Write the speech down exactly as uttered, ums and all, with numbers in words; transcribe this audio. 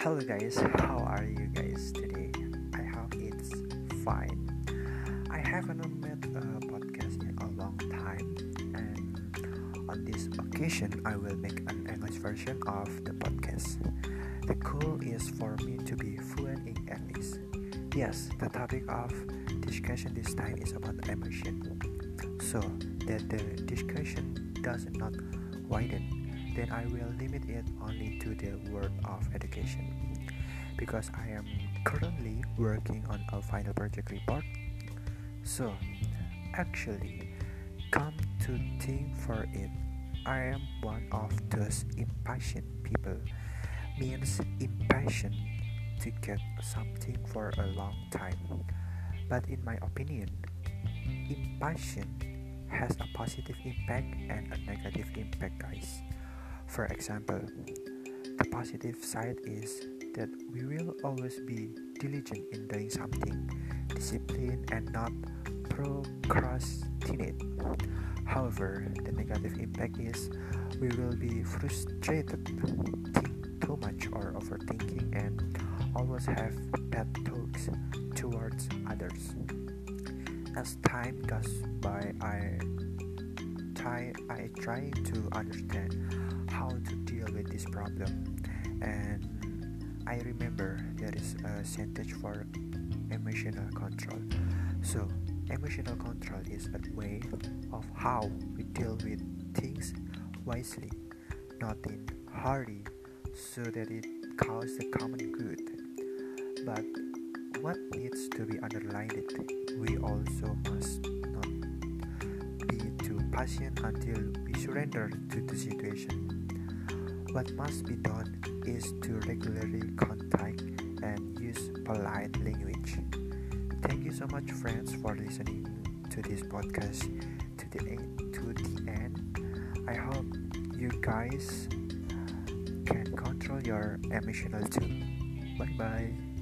Hello guys, how are you guys today? I hope it's fine. I haven't made a podcast in a long time, and on this occasion I will make an English version of the podcast. The goal is for me to be fluent in English. Yes, the topic of discussion this time is about emotion. So that the discussion does not widen, then I will limit it only to the word of education. Because I am currently working on a final project report. So, actually, come to think for it, I am one of those impatient people. Means impatient to get something for a long time. But in my opinion, impatient has a positive impact and a negative impact, guys. For example, the positive side is that we will always be diligent in doing something, disciplined and not procrastinate. However, the negative impact is we will be frustrated, think too much or overthinking, and always have bad thoughts towards others. As time goes by, I try, I try to understand how to deal with this problem, and I remember there is a sentence for emotional control. So emotional control is a way of how we deal with things wisely, not in hurry, so that it causes the common good. But what needs to be underlined, we also must not be too patient until we surrender to the situation. What must be done is to regularly contact and use polite language. Thank you so much, friends, for listening to this podcast to the end, to the end. I hope you guys can control your emotional too. Bye bye.